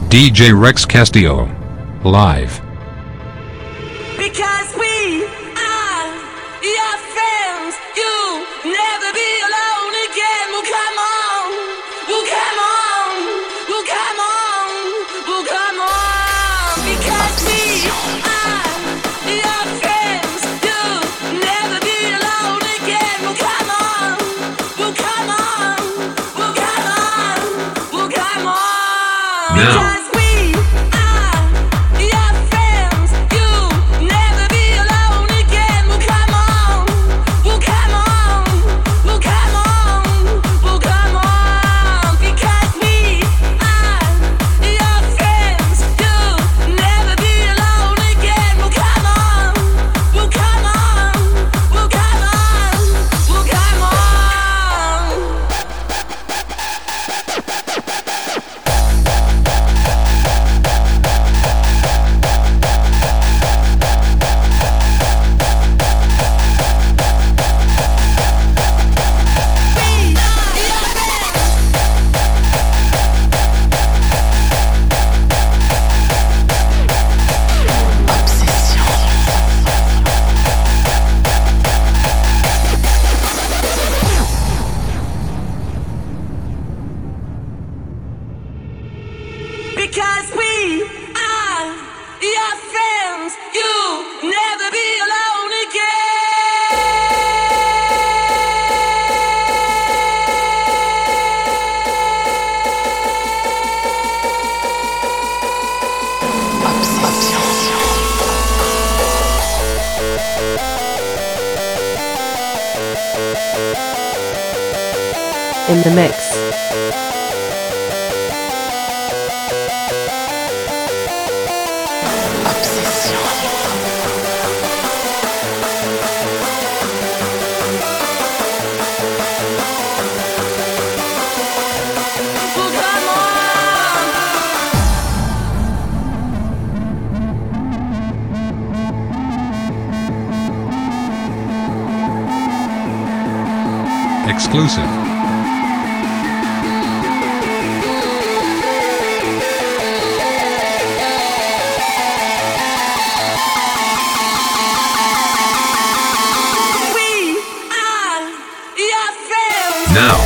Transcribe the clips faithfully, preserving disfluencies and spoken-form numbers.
D J Rex Castillo. Live. Because we are your friends, you'll never be alone again. Well, come on, well, come on, well, come on, well, come on. Because we are your friends, you'll never be alone again. Well, come on, well, come on, well, come on, well, come on. Now. Because we are your friends, you'll never be alone again. In the mix. Exclusive. We are your friends. Now.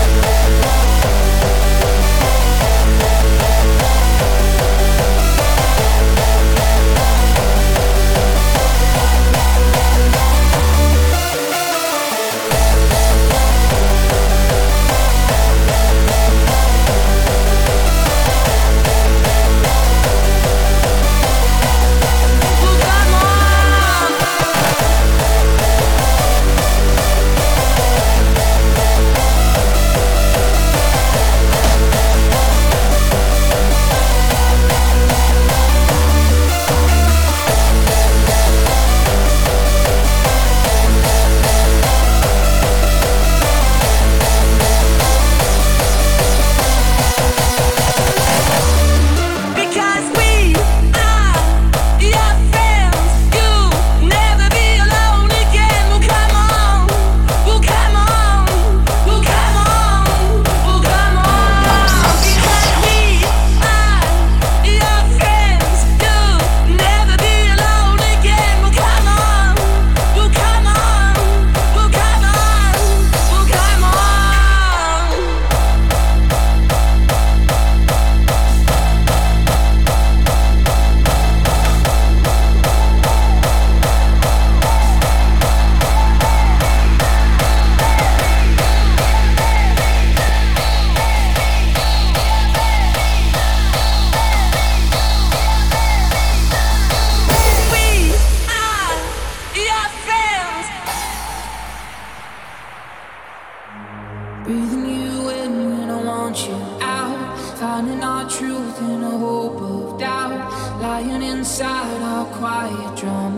Breathing you in when I want you out. Finding our truth in a hope of doubt. Lying inside our quiet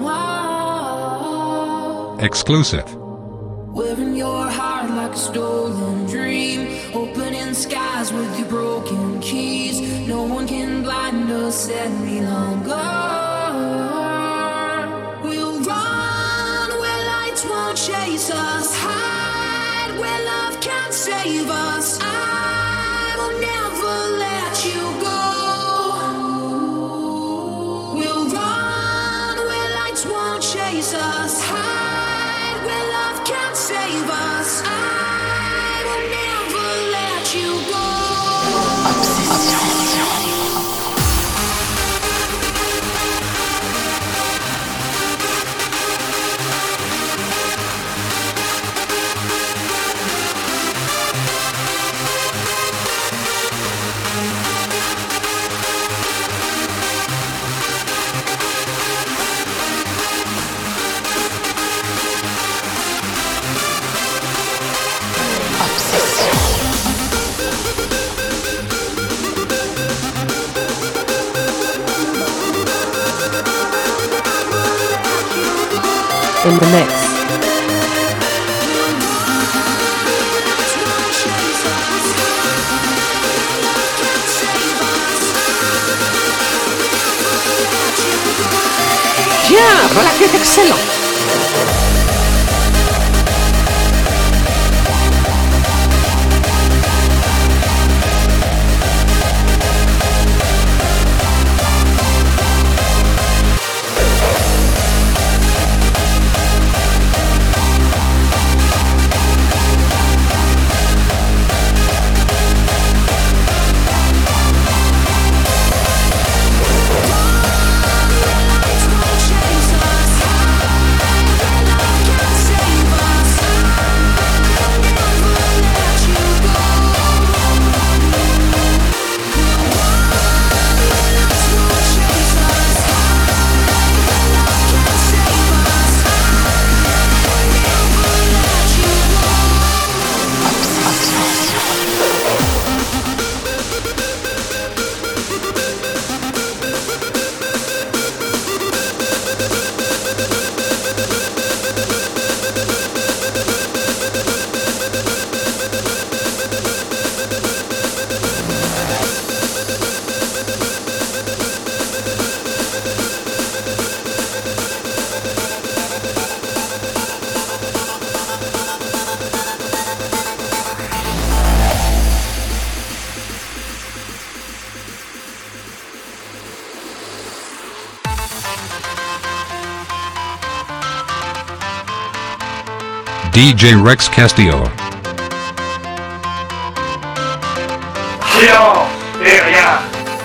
drama. Exclusive. Wearing your heart like a stolen dream. Opening skies with your broken keys. No one can blind us any longer. We'll run where lights won't chase us. Hide where love can't save us. I will never let you go. in the mix. Bien, voilà qui est excellent. D J Rex Castillo. Silence et rien.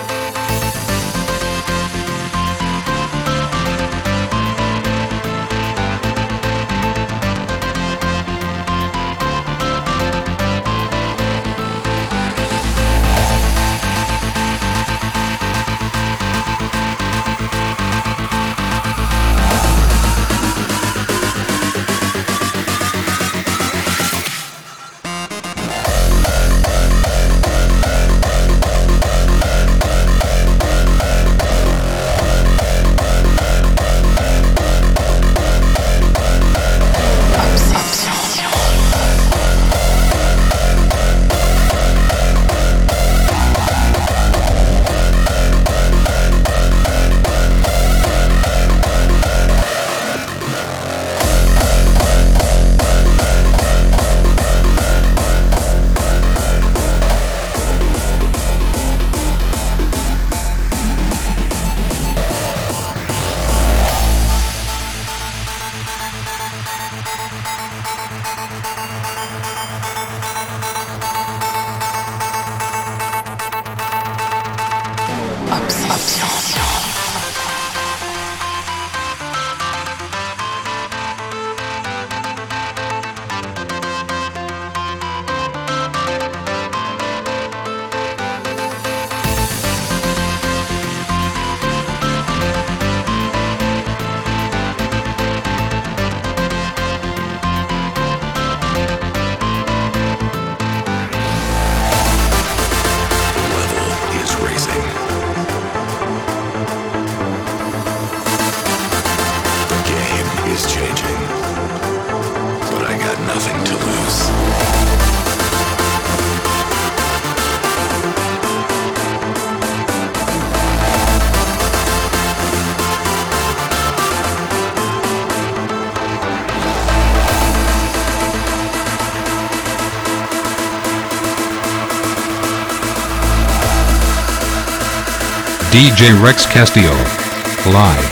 D J Rex Castillo. Live.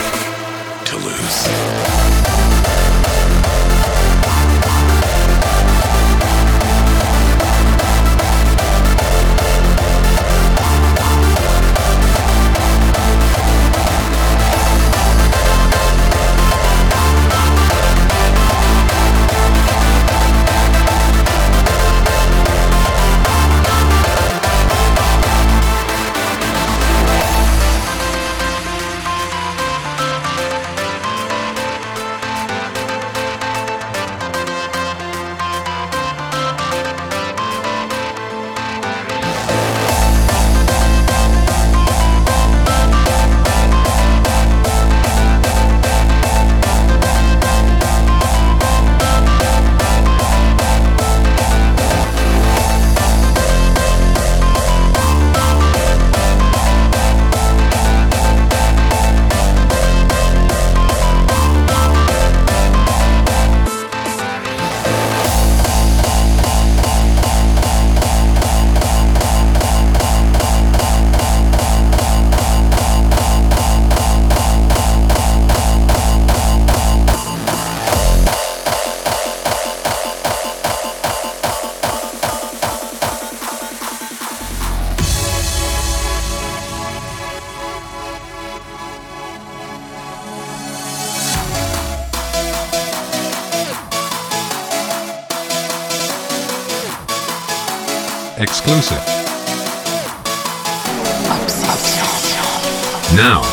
To lose. exclusive. Now.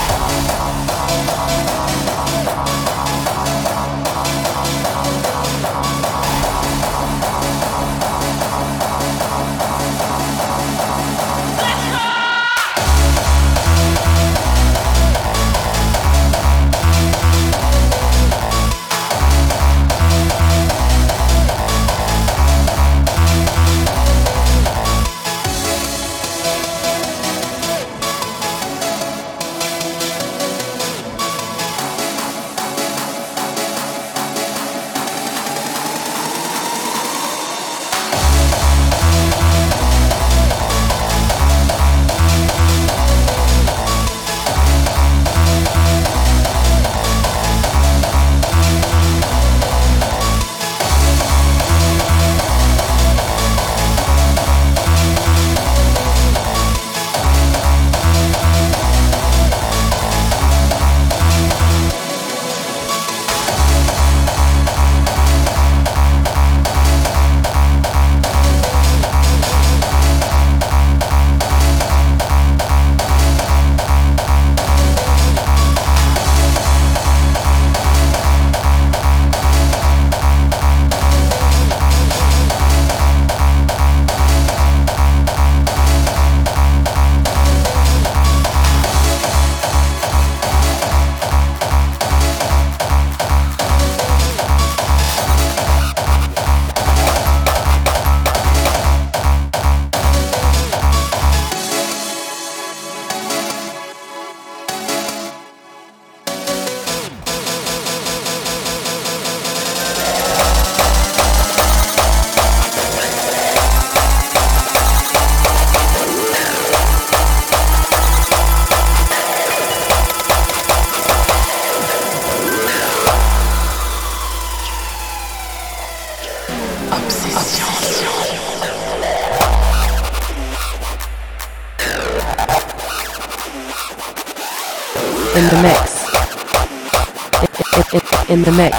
In the mix. In, in, in the mix.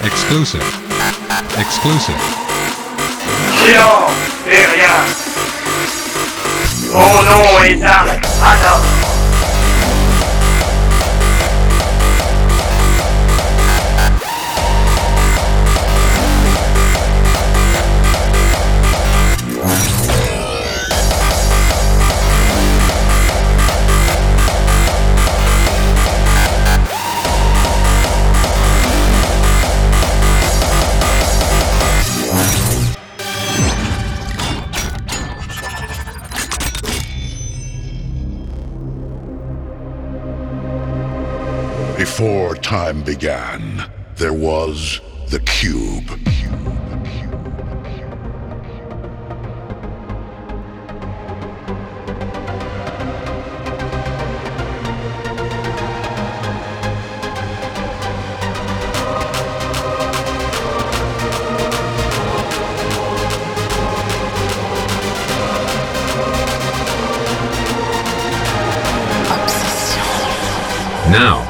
Exclusive. Exclusive. Silence et rien. Mon nom est Dark Adam. Before time began, there was the Cube. Now.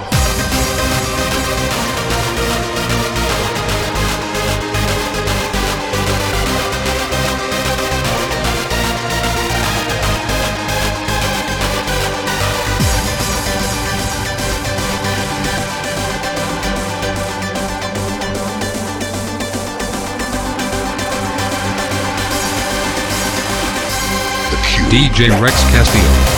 D J Rex Castillo.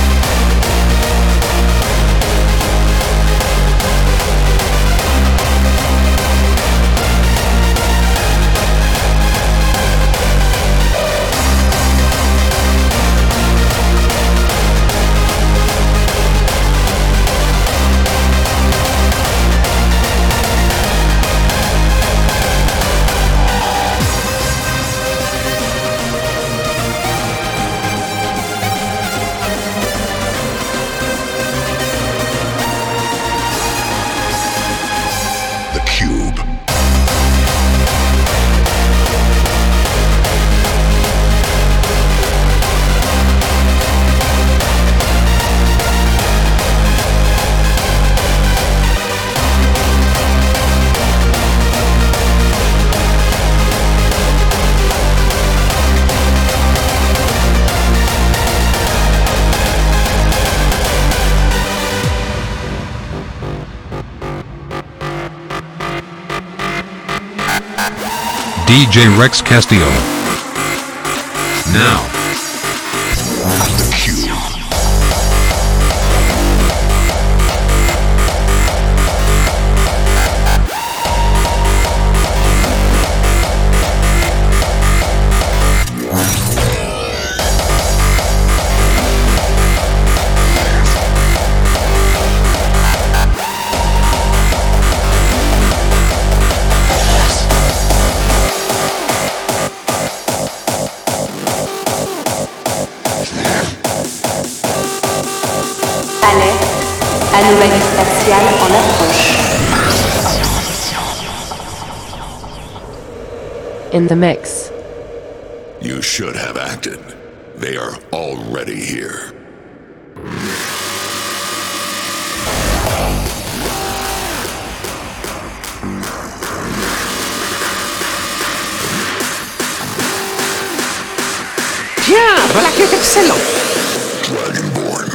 D J Rex Castillo. Now. The Cube. Anomalie spatiale en approche. In the mix. You should have acted. They are already here. Tiens, voilà qui est excellent. Dragonborn.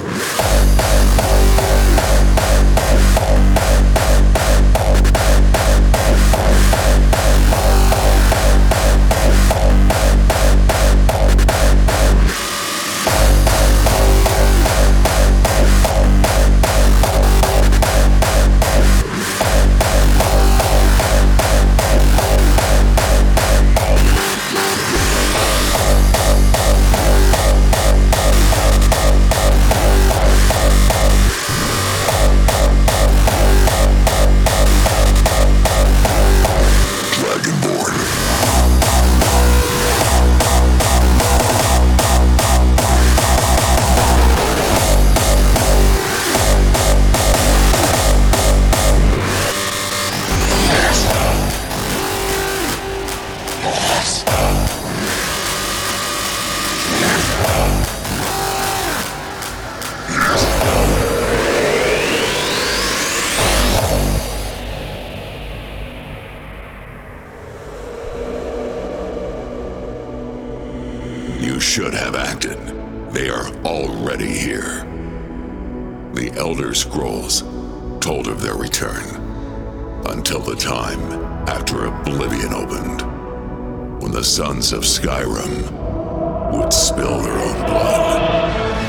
You should have acted. They are already here. The Elder Scrolls told of their return until the time after Oblivion opened, when the sons of Skyrim would spill their own blood.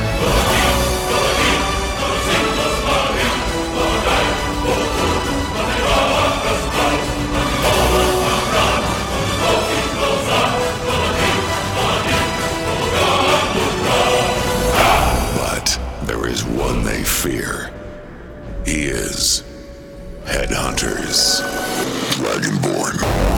There is one they fear. He is Headhunters. Dragonborn.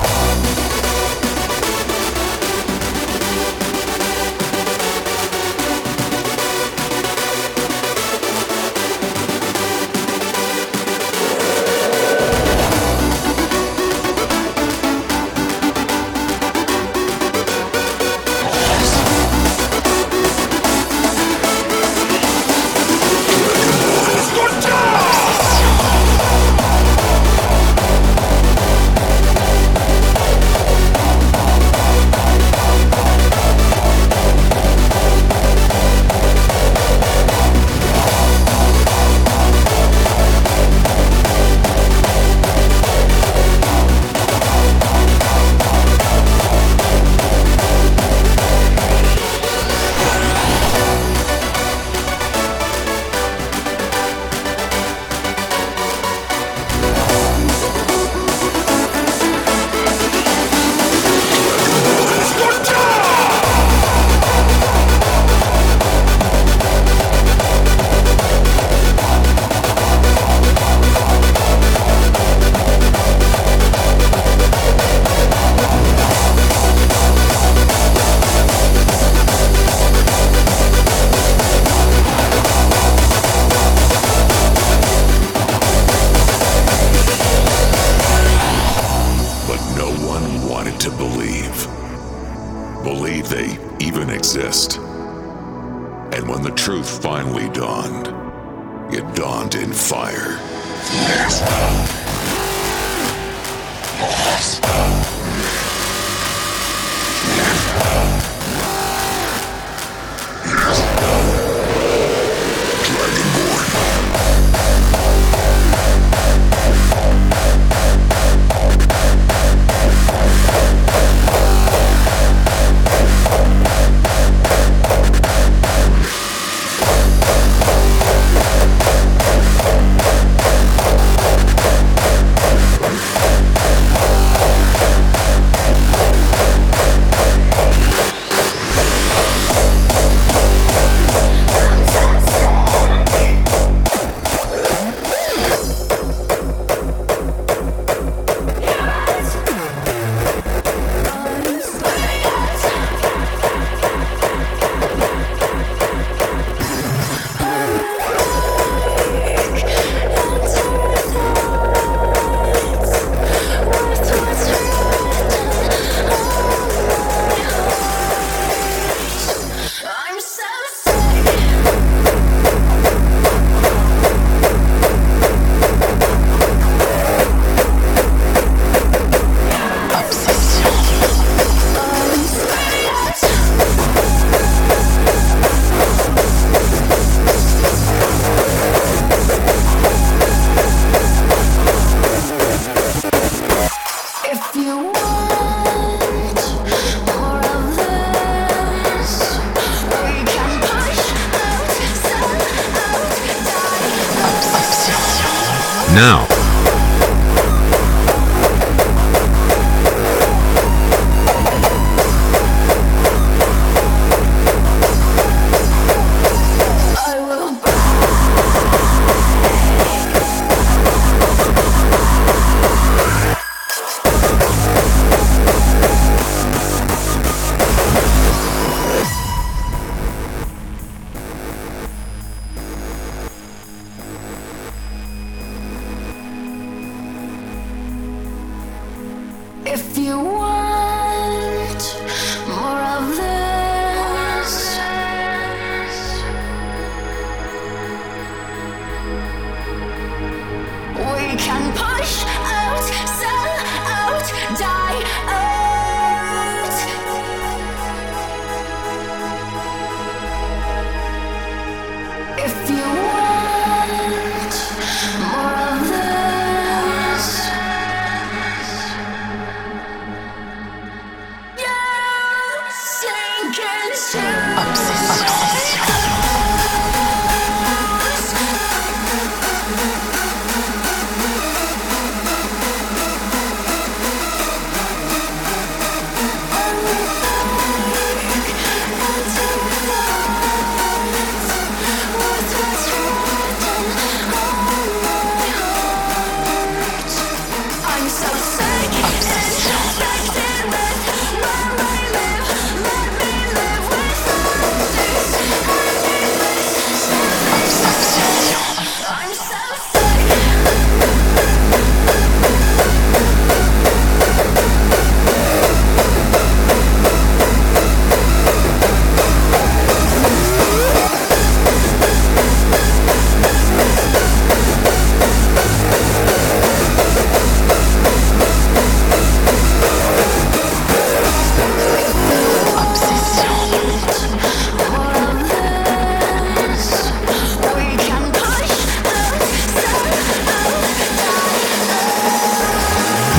Now. If you want more of this, we can push out, sell out, die out.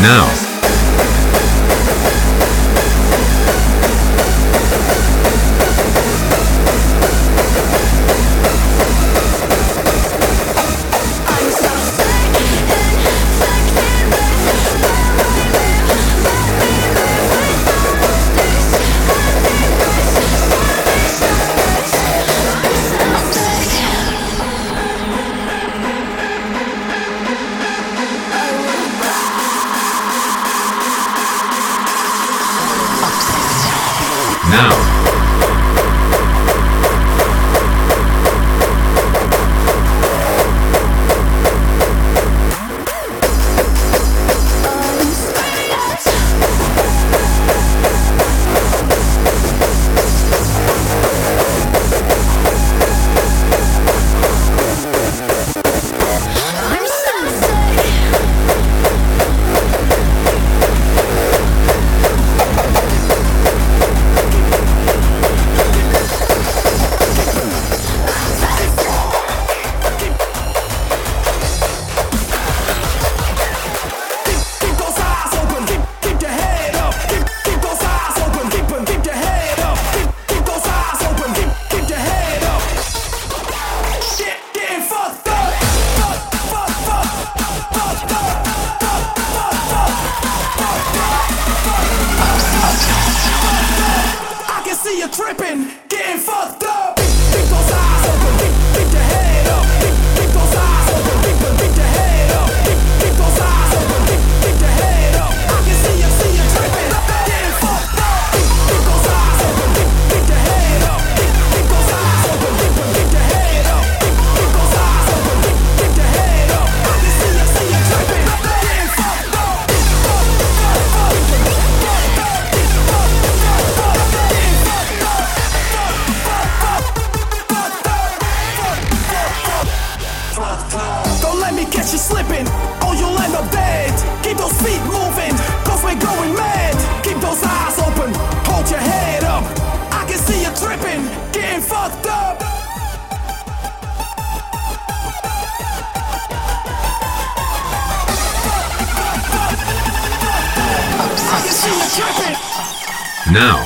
Now. Now. Now.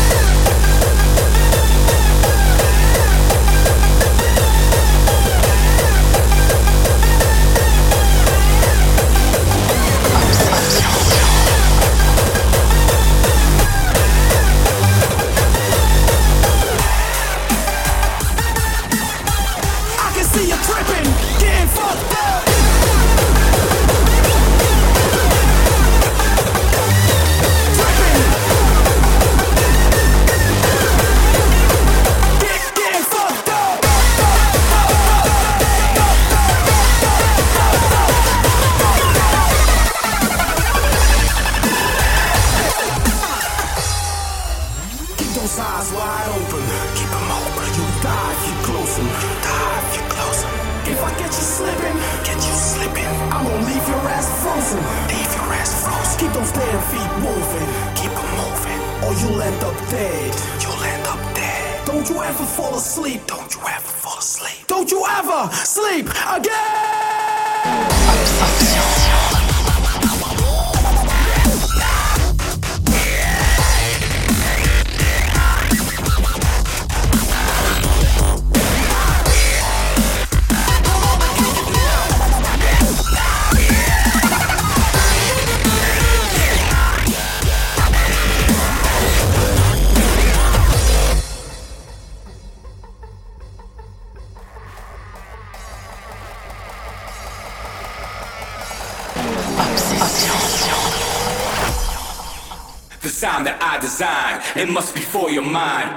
The sound that I design, it must be for your mind.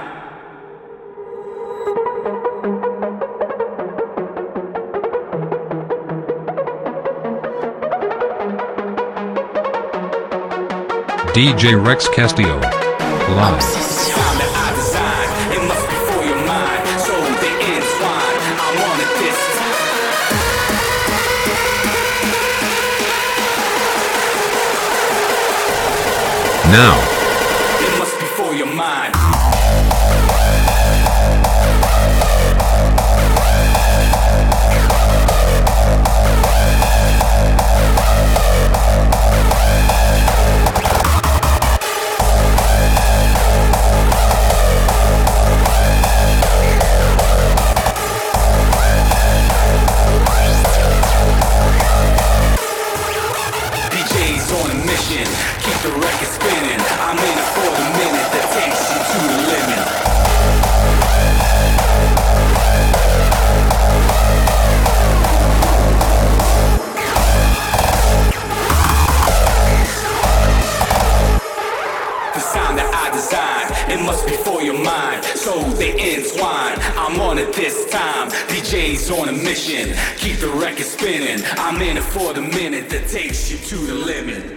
D J Rex Castillo. Live. Now. It must be for your mind. Keep the record spinning. I'm in it for the minute that takes you to the limit. The sound that I designed, it must be for your mind, so they entwine. I'm on it this time, D J's on a mission. Keep the record spinning. I'm in it for the minute that takes you to the limit.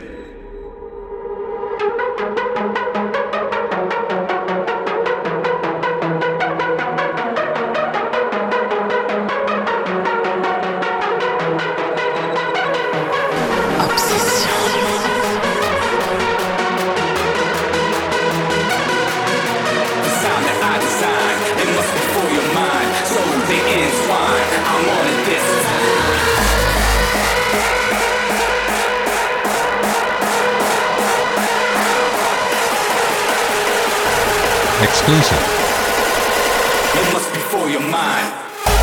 Exclusive. It must be for your mind.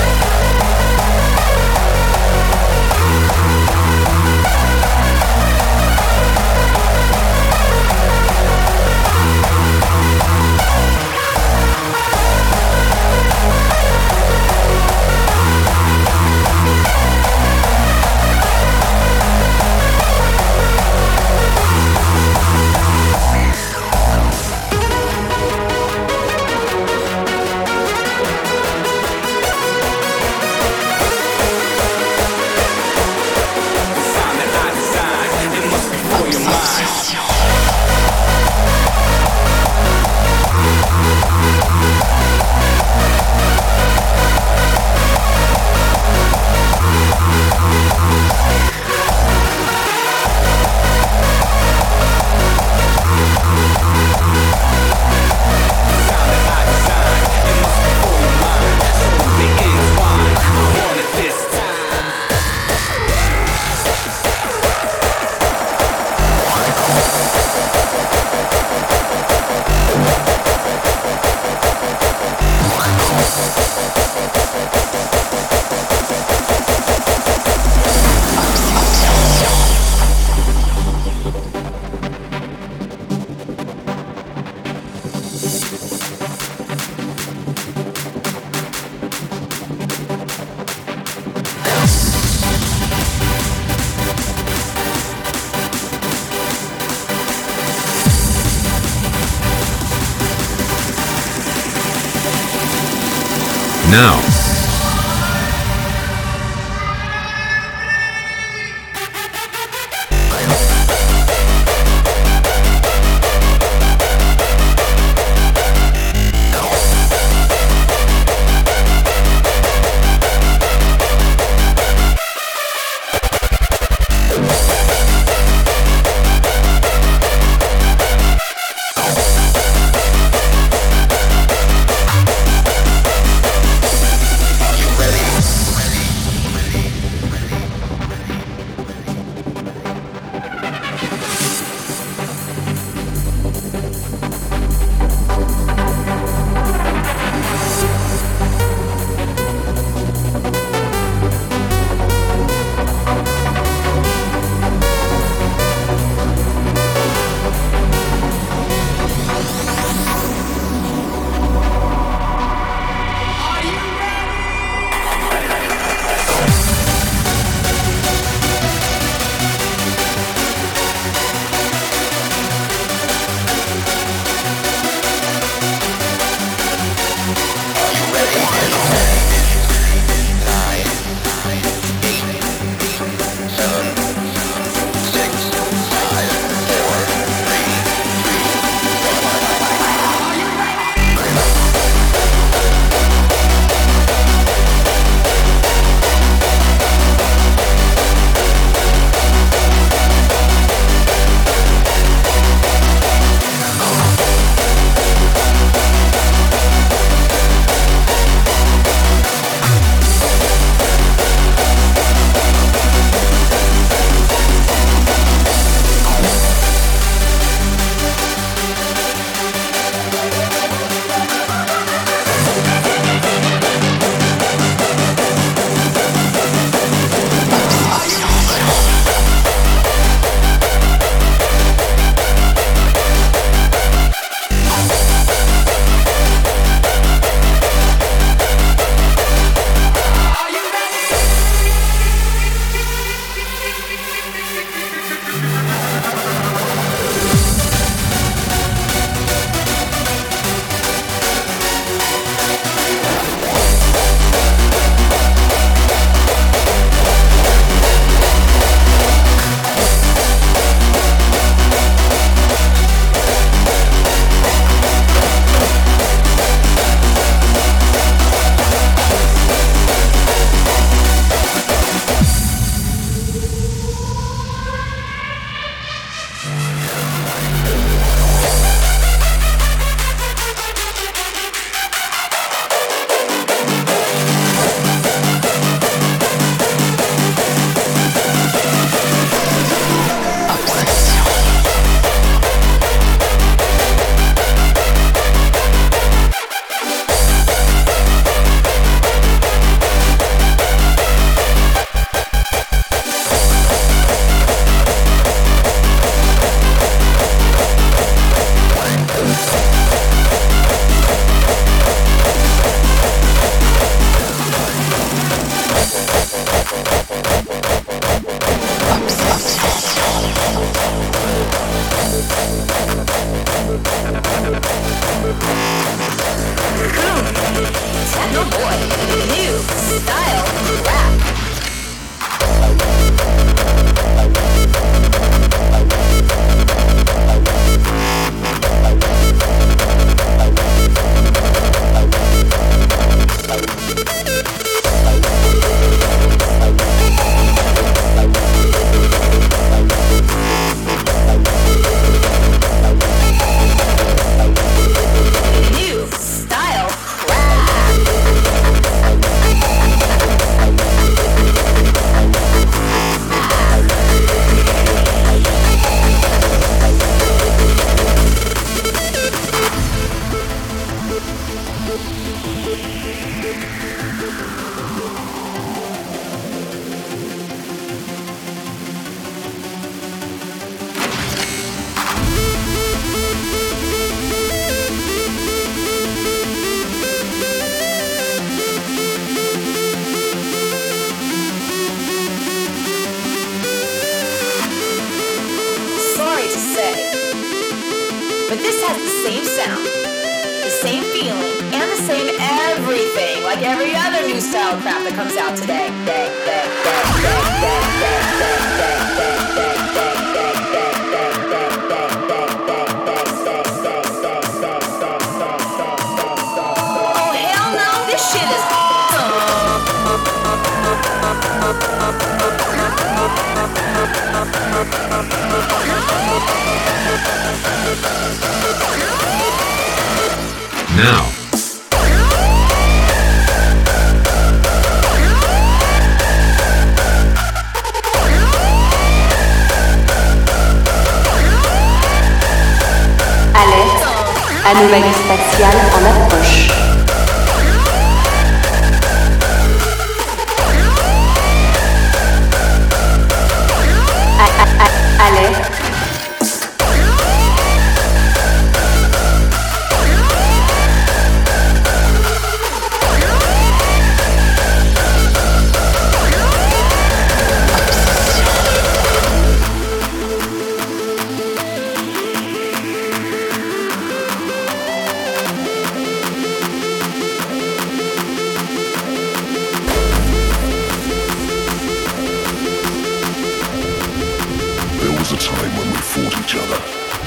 Now. Techno boy, new style rap. New style Sorry to say, but this has the same sound, the same feeling, and the same everything like every other new style crap that comes out today. Oh hell no, this shit is Now, Alerte, anomalie spatiale en approche. A- a- a- Alerte. There was a time when we fought each other.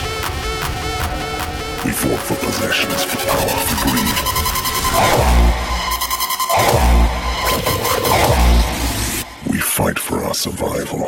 We fought for possessions, for power, for greed. We fight for our survival.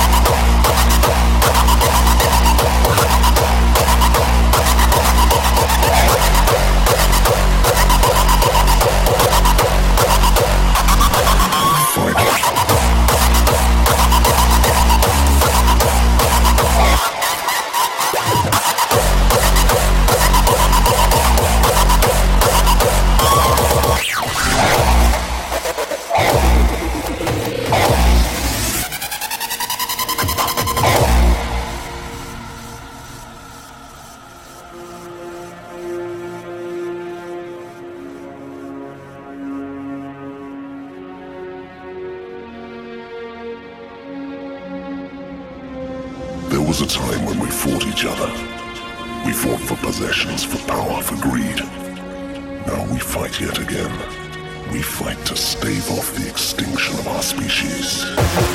There was a time when we fought each other. We fought for possessions, for power, for greed. Now we fight yet again. We fight to stave off the extinction of our species.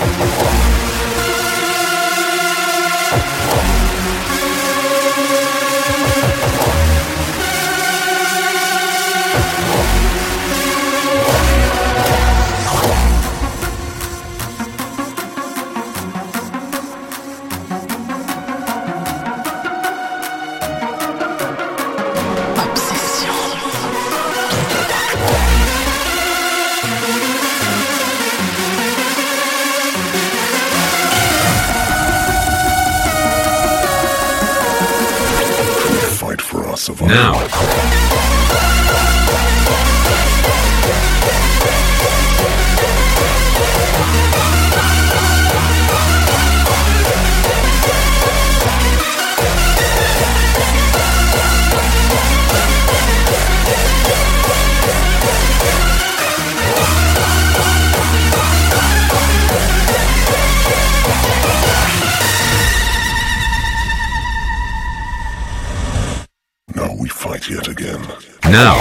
now. we fight yet again. Now.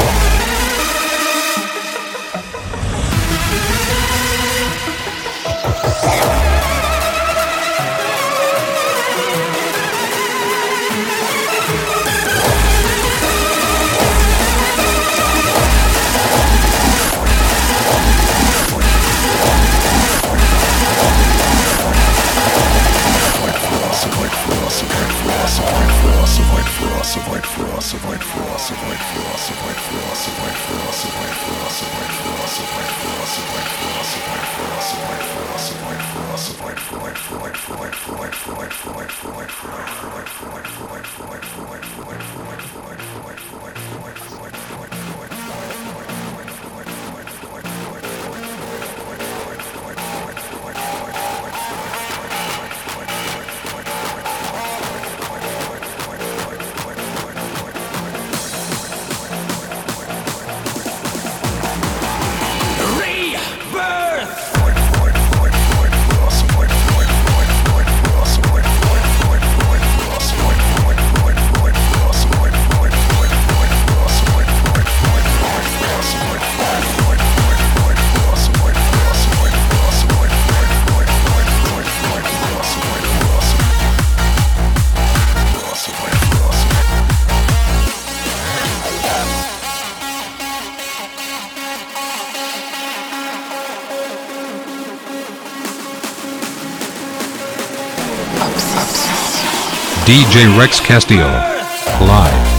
D J Rex Castillo, live.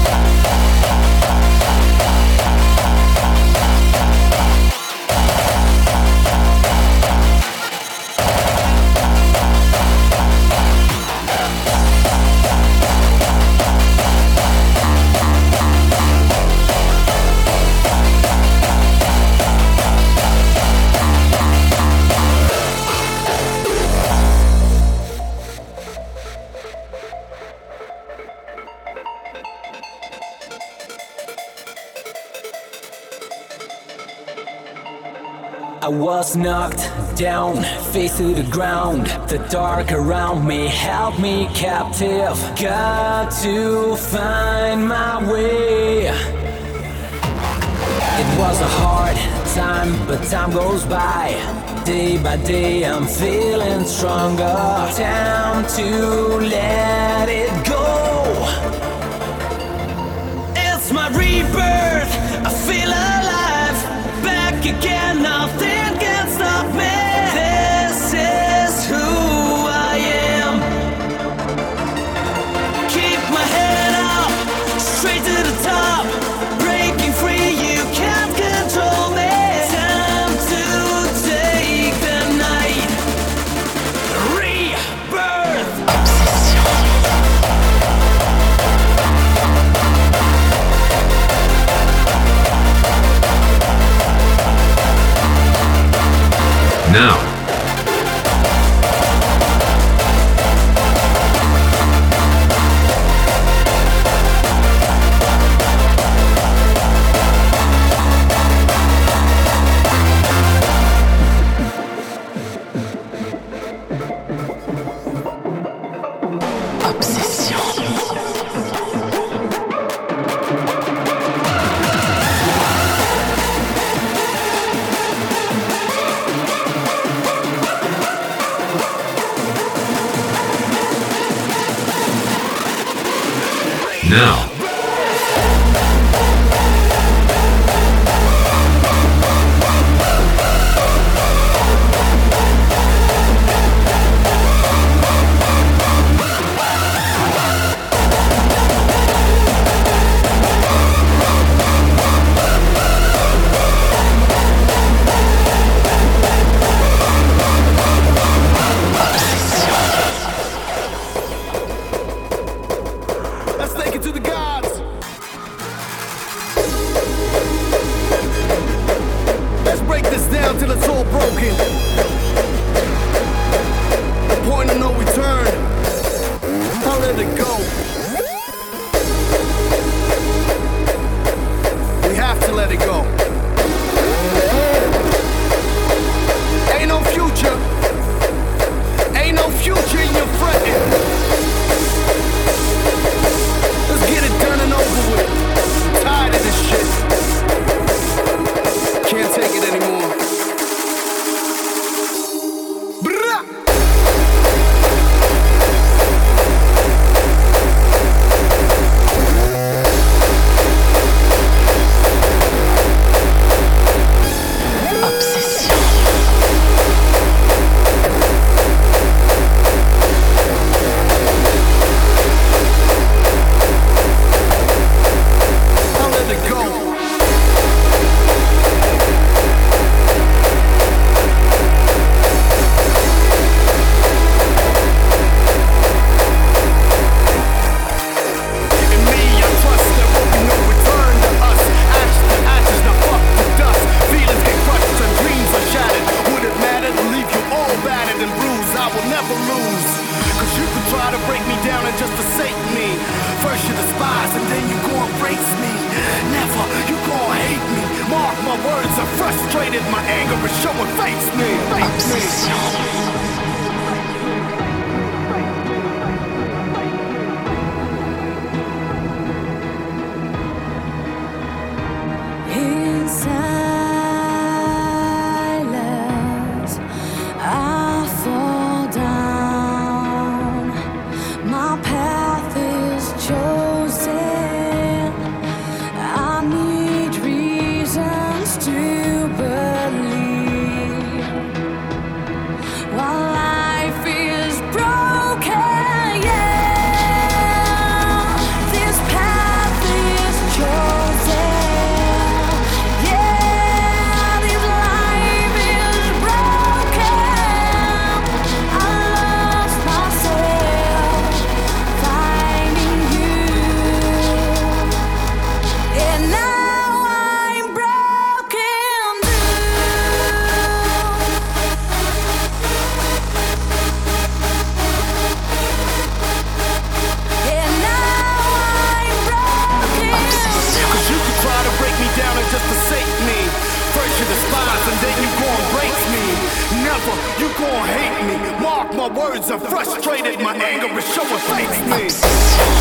I was knocked down, face to the ground. The dark around me held me captive. Got to find my way. It was a hard time, but time goes by. Day by day I'm feeling stronger. Time to let it go. It's my rebirth, I feel alive. Back again, nothing can stop me. This is who I am. Keep my head up, straight to the top. Breaking free, you can't control me. Time to take the night. Rebirth. Now. Now. Let's get it done and over with. Never, you gon' hate me. Mark my words, I'm frustrated. My anger is showing face me. Face me. You gon' hate me. Mark my words, I'm frustrated. My anger is showing face me.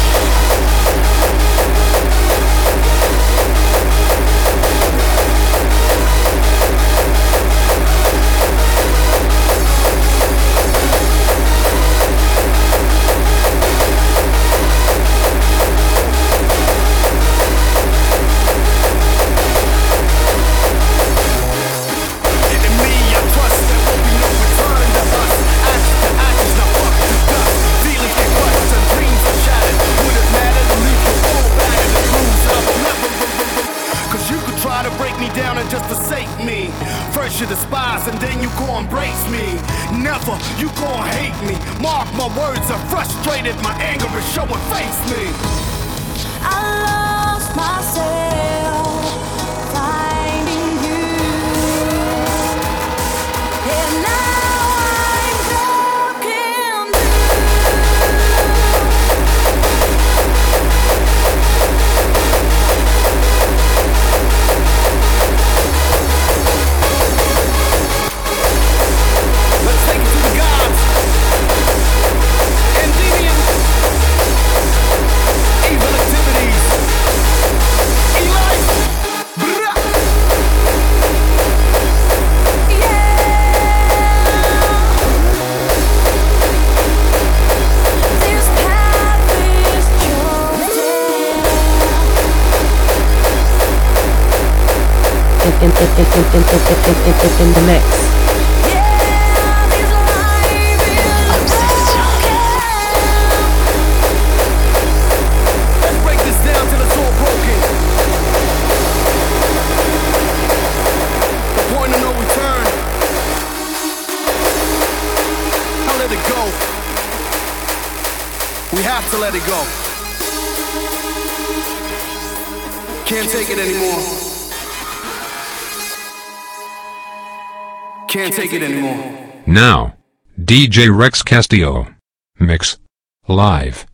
You despise and then you gon' embrace me. Never, you gon' hate me. Mark my words, I'm frustrated. My anger is showing face me. I lost myself finding you, and now I'm broken In, in, in, in, in, in, in, in, in the mix. Let's break this down till it's all broken. The point of no return. I'll let it go. We have to let it go. Can't take it anymore. Can't take it anymore. Now, D J Rex Castillo. Mix. Live.